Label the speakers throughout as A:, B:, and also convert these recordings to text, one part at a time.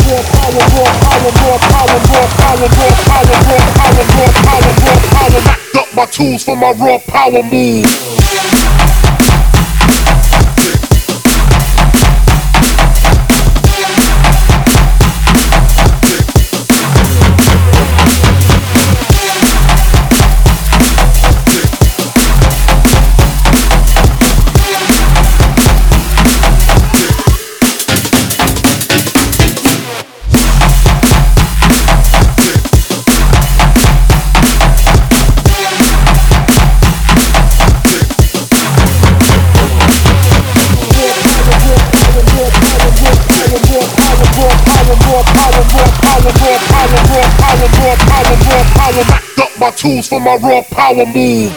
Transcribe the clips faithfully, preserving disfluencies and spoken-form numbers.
A: My tools for my raw power move. My tools for my raw power move.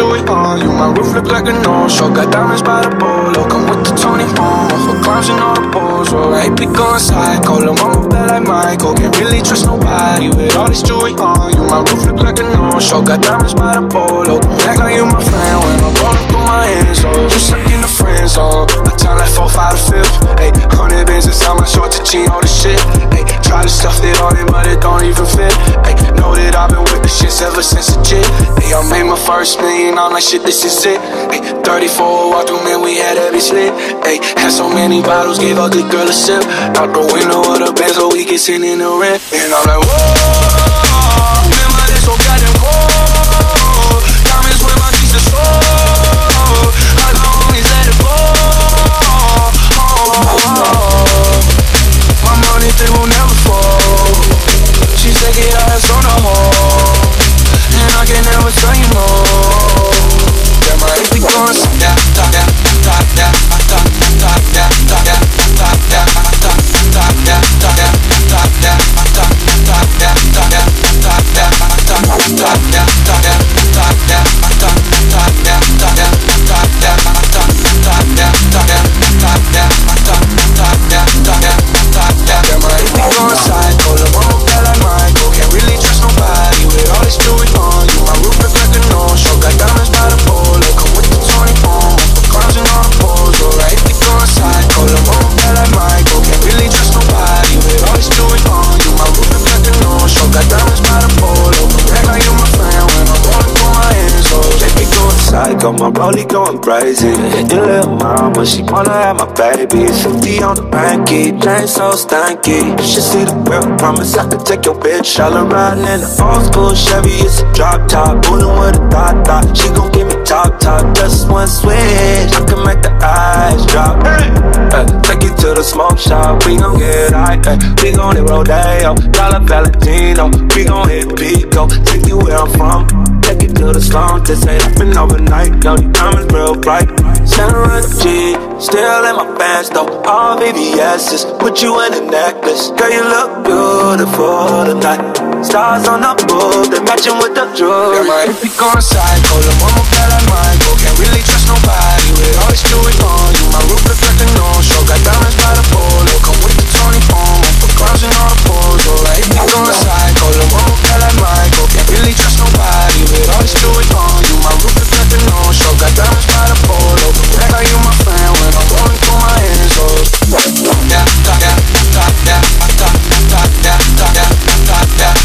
B: jewelry on you. My roof look like a no-show. Got diamonds by the bolo. Come with the Tony Momo for clowns and all the balls. Oh, I be going psycho. Lil' mama bad like Michael. Can't really trust nobody with all this jewelry on you. My roof look like a no-show. Got diamonds by the bolo. Act like you my friend when I'm rolling through my hands. Oh, you stuck in the friend zone. I time like four, five, to fifth. Ayy, hundred bands inside my short to cheat all the shit. Ayy, try to stuff it on it, but it don't even fit. Ayy, know that I've been with the shits ever since the jit. Ayy, I made my first million, I'm like shit, this is it. Ayy, thirty-four walk through, man, we had every slit. Ayy, had so many bottles, gave out the girl a sip. Out the window of the Benz, so we get sitting in the rent. And I'm like, whoa, man, my dick so goddamn cold. Diamonds with my teeth are so. I can always let it go. My money, they will never fall. She said get her ass on the hole, and I can never tell you no. Yeah, my if we going yeah, yeah, yeah, yeah, yeah,
C: Got my rollie going crazy. Your little mama, she wanna have my baby. fifty on the banky, chain so stanky. You should see the whip, promise I could take your bitch. All riding in the old school Chevy, it's a drop top. Bullin' with a dot dot, she gon' give me top top. Just one switch, I can make the eyes drop. Hey, hey, take you to the smoke shop, we gon' get high. Hey, we gon' hit Rodeo, Dollar Valentino. We gon' hit Pico, take you where I'm from. Take it to the slum, this ain't happen overnight. Yo, you diamonds real bright. Center of the G, still in my pants though. All V V S's, put you in a necklace. Girl, you look beautiful tonight. Stars on the roof, they matching with the jewelry.
B: Yeah, my if we going psycho, the mama bad like Michael. Can't really trust nobody with all this jewelry on you. My roof look like a no-show. Got diamonds by the polo. Come with the Tony Momo for clowns and all the balls. Oh, like if we going psycho, the mama bad like Michael. Can't really trust nobody with all this jewelry on you. My roof look like a no-show. Got diamonds by the polo. Act like you my friend when I'm rolling through my hands. Oh, yeah, yeah, yeah, yeah, yeah, yeah, yeah, yeah, yeah.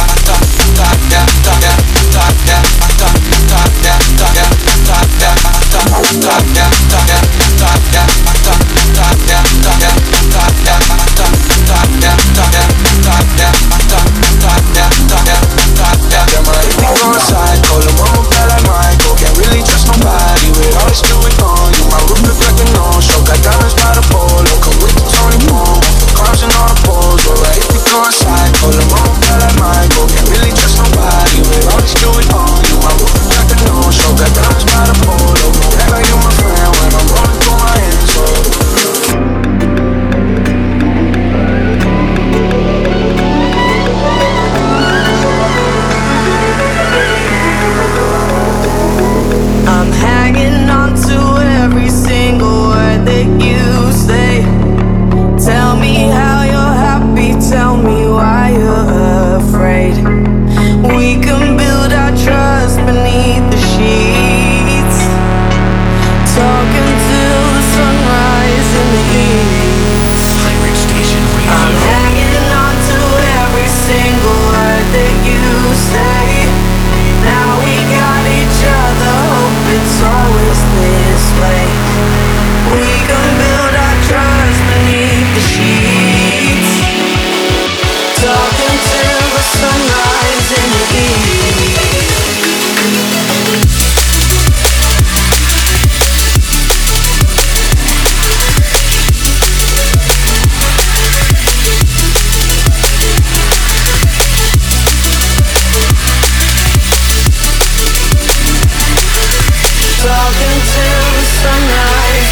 D: Talking to the sunrise.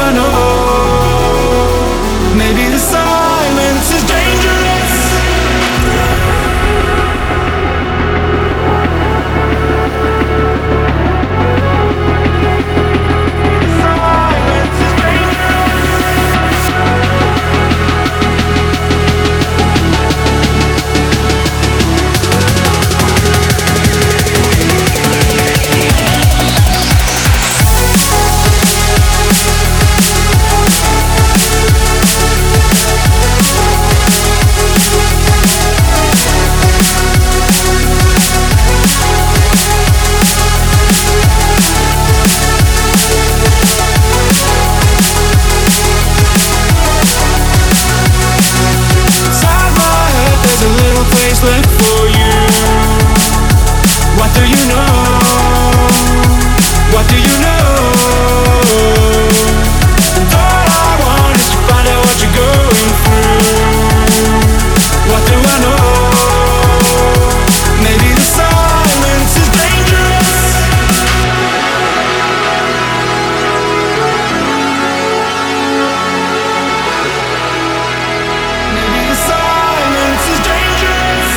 B: I know? Maybe the silence is dangerous. Silence is left for you. What do you know? What do you know? And all I want is to find out what you're going through. What do I know? Maybe the silence is dangerous. Maybe the silence is dangerous.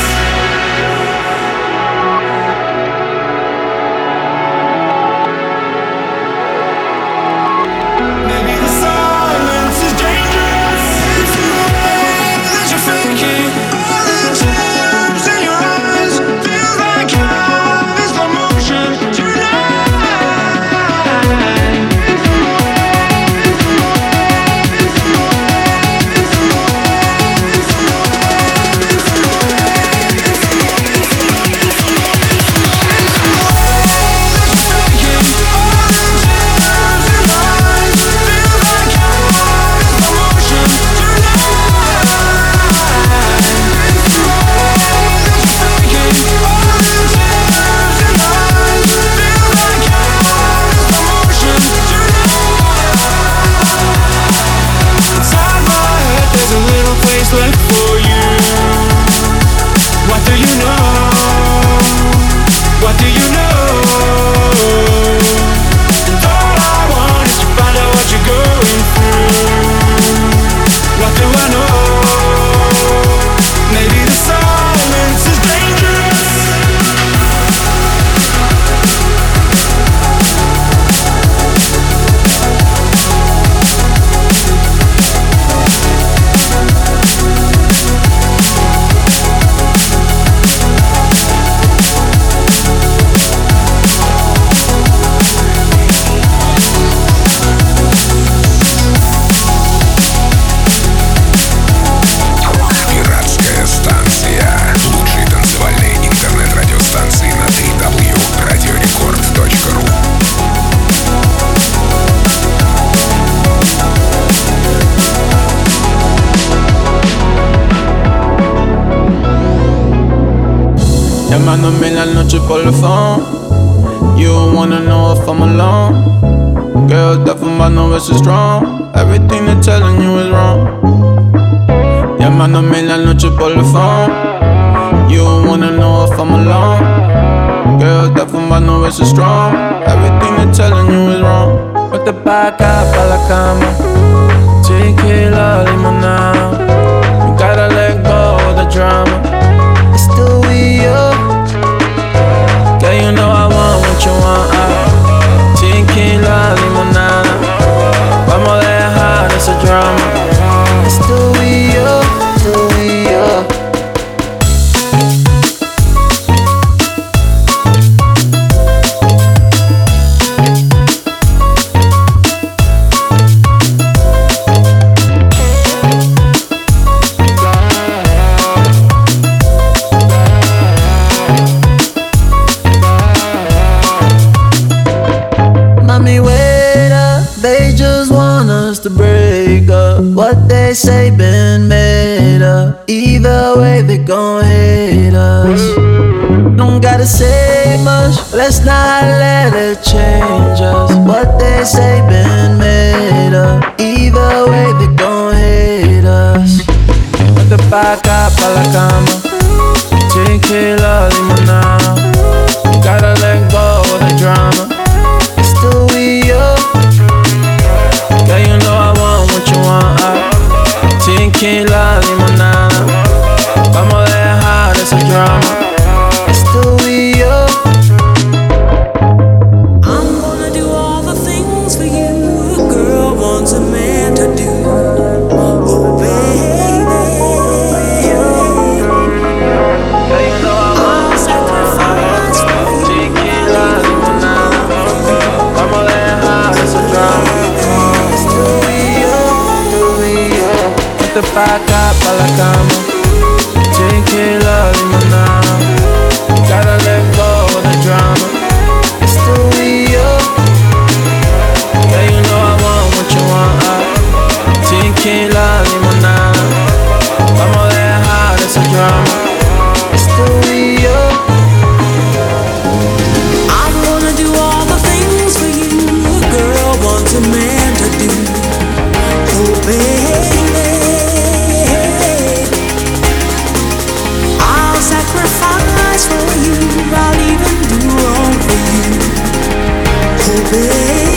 B: Maybe the silence is dangerous. It's the way that you're faking. All the tears in your eyes feels like half is slow motion tonight. It's the way, it's the way, it's the way, it's the way, it's the way, it's the way, it's the way, it's the way, it's the way that you're faking. All the tears in your eyes feels like half is slow motion tonight. It's the way that you're faking. All the tears in your eyes feels like half is slow motion tonight. Inside my head there's a little place left for you. What do you know? What do you know? And all I want is to find out what you're going through. What do I know? Maybe the silence is dangerous.
D: Пиратская станция. Лучшие танцевальные интернет-радиостанции на дабл ю дабл ю дабл ю точка радиорекорд точка ру.
B: Llamándome en la noche por el phone. You wanna know if I'm alone. Girl, that from my no is strong. Everything they're telling you is wrong. Llamándome en la noche por el phone. You wanna know if I'm alone. Girl, that from my no is strong. Everything they're telling you is wrong. Vete pa' acá, pa' la cama. Tequila, limonada. You gotta let go of the drama. It's still we up. Girl, you know I want what you want. I tequila, limonada. Vamos a dejar ese drama. It's still we up, still we up. Mommy, wait up, they just want us to break up. What they say been made up. Either way they gon' hate us. Don't gotta say much, let's not let it change us. What they say been made up. Either way they gon' hate us. Vete pa' acá, pa' la cama. Tequila, limonada. You gotta let go of the drama. It's still we up. Girl, you know drama. It's the we up.
E: I'm gonna do all the things for you a girl wants a man to do. Oh baby, I'll sacrifice for you.
B: Vamos a dejar ese drama. It's the we up, the we up. Ponte pa' acá, pa' la cama. Tequila, limonada. Gotta let go of the drama. It's the we up. Yeah, you know I want what you want. uh. Tequila, limonada. Vamos a dejar ese drama. It's the we up.
E: I'm gonna do all the things for you a girl wants a man to do. Oh baby, I'll sacrifice for you. I'll even do wrong for you. Oh baby.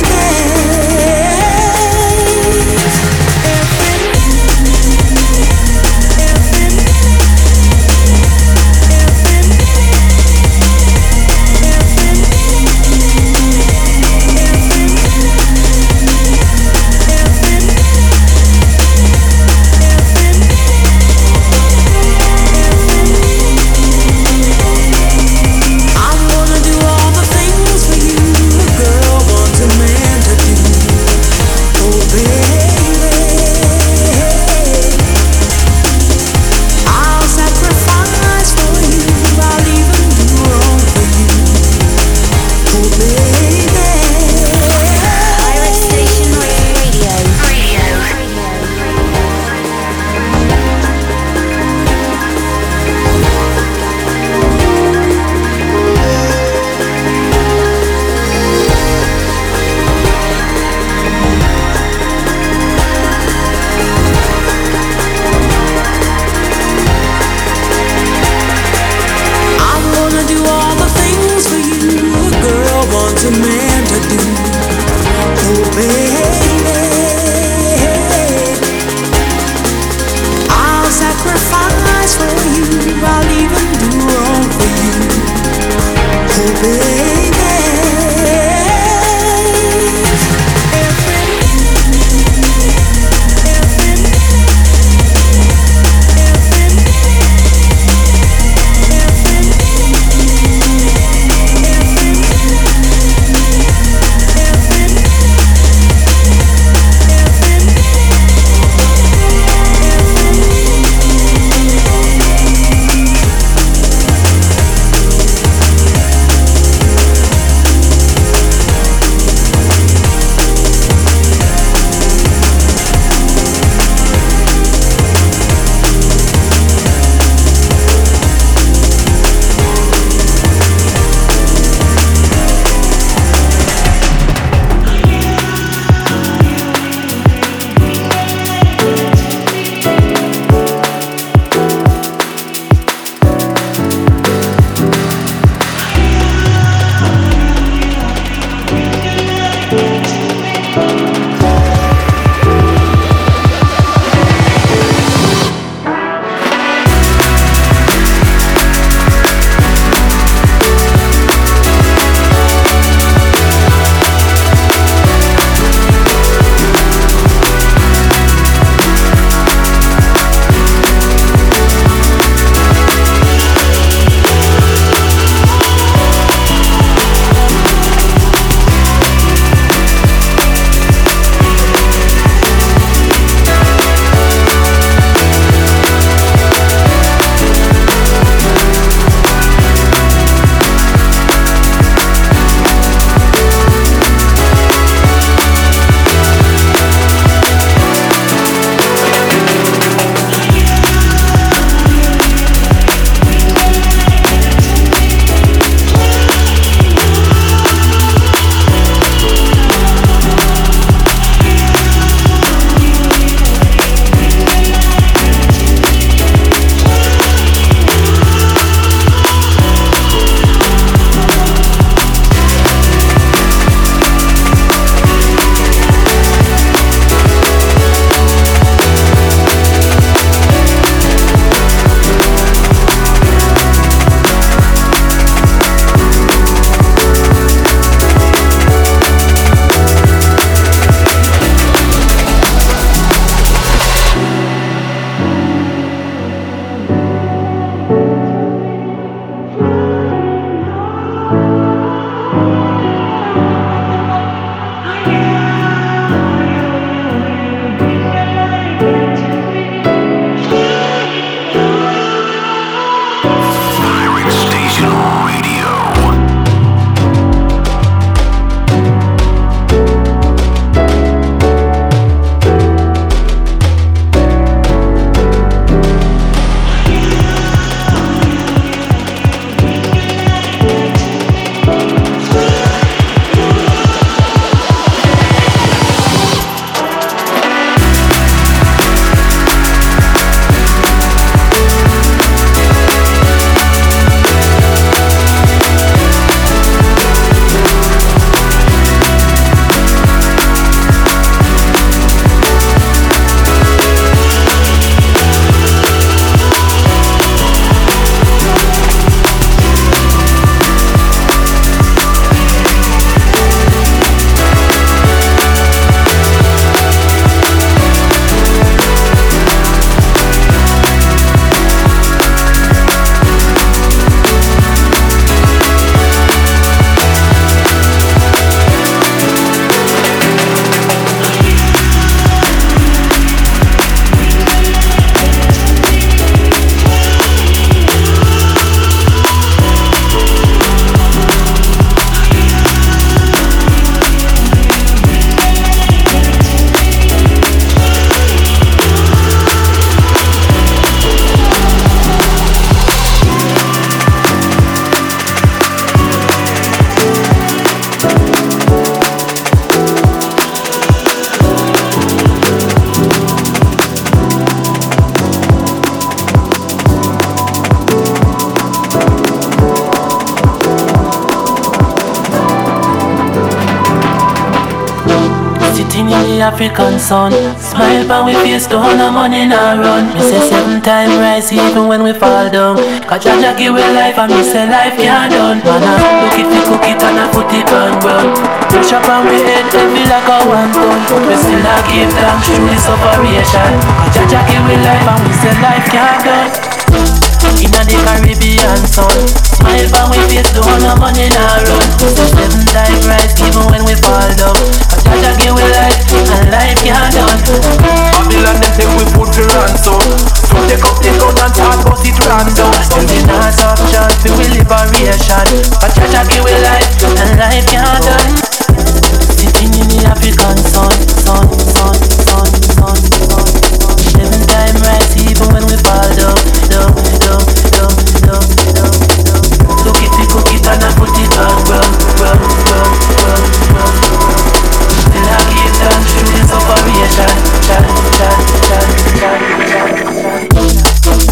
F: African sun. Smile pan we face, don't no money nah run. Me say seven time rise even when we fall down. Cause Jah Jah give we life and me say life can't done. Man I look it, we cook it and I put it on ground. Brush up on we head heavy like a one ton. We still a give thanks through this operation. Cause Jah Jah give we life and we say life can't done. Inna the Caribbean sun, smile pan we face, don't no money nah run. So seven time rise even when we fall down. Cause Jah Jah give we life and life can't done.
B: Babylon them take we put the ransom. So take up the gun and start bust it random.
F: Still the not up chance for we liberation. Cause Jah Jah give we life and life can't done. Sitting in the African sun, sun, sun, sun, sun, sun. Seven time rise even when we fall down, down, down, down, down, down, down. Look it, we cook it and I put it on ground, ground, ground, ground, ground. Still I give thanks through this operation. Chan, chan, chan, chan, chan, chan.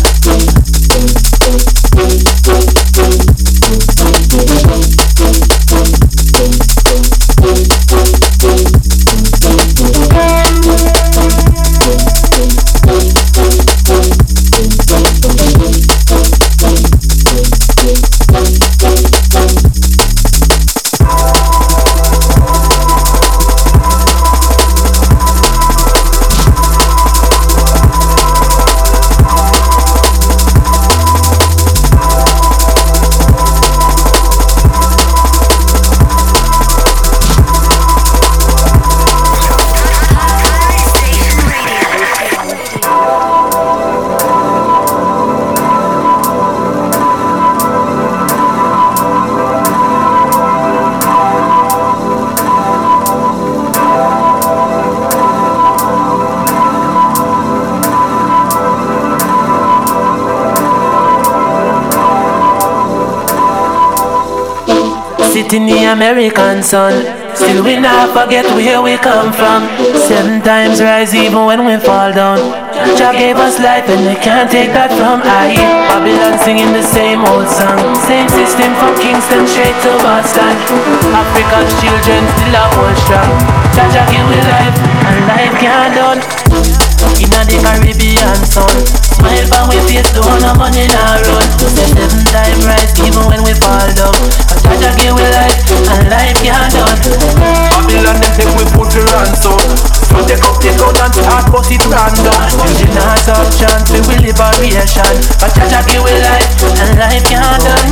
F: In the American sun, still we not forget where we come from. Seven times rise even when we fall down. Jah gave us life and they can't take that from I. Babylon singing the same old song. Same system from Kingston straight to Boston. African children still a hold strong. Jah Jah give we life and life can't done. Inna the Caribbean sun, smile pan we face, don't no money nah run. Say seven time rise even when we fall down. Cause Jah Jah give we life and life can't done.
B: Babylon them take we put the ransom. So take up the gun and start bust it random.
F: Still the not up chance for we liberation. Cause Jah Jah give we life and life can't done.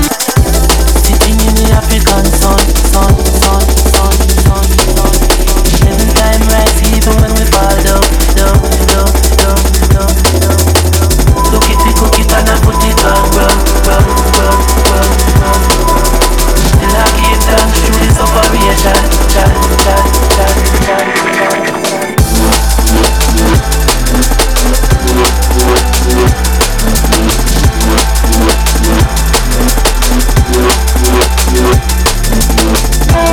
F: Sitting in the African sun, sun, sun, sun, sun, sun. Seven time rise even when we fall down, down, down, down, down, down. Look it, we cook it and I put it on ground, ground, ground, ground, ground. Still I give thanks through this operation. Chan, chan, chan, chan, chan, chan.
E: Yeah.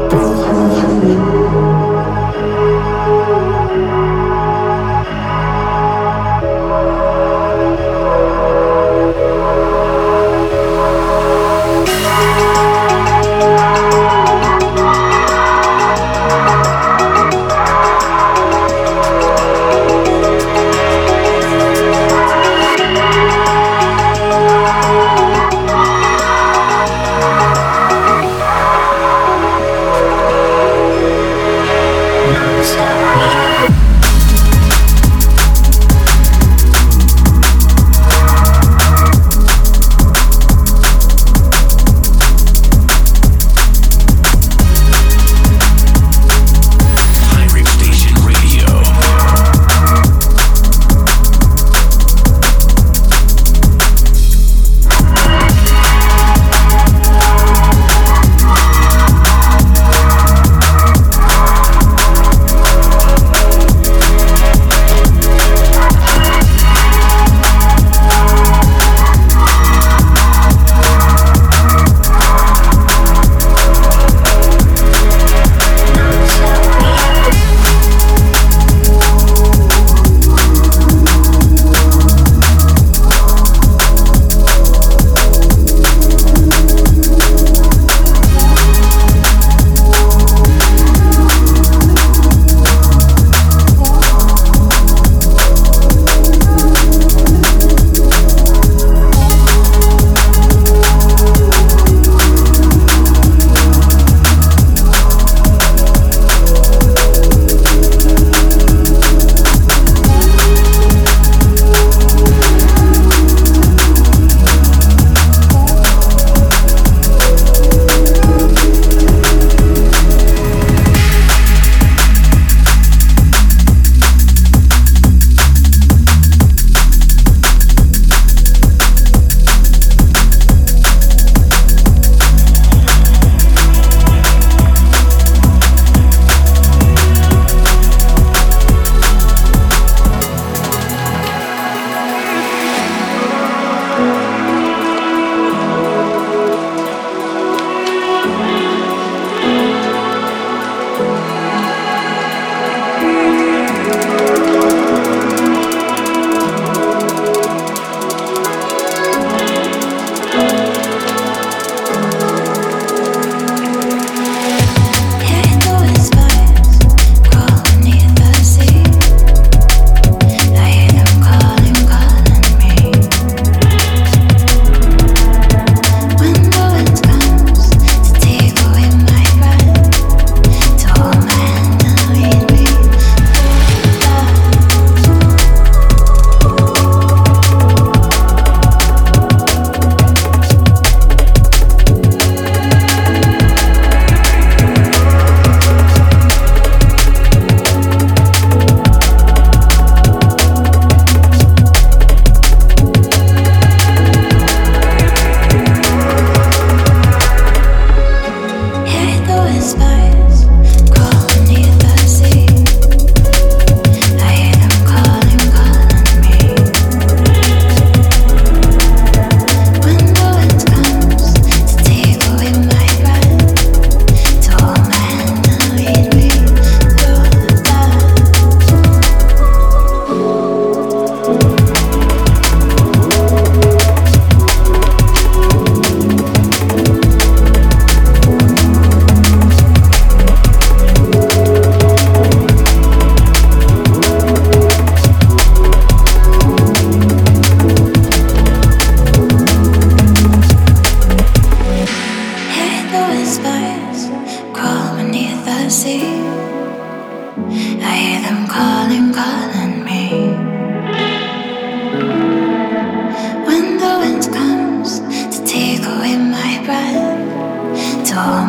G: Torment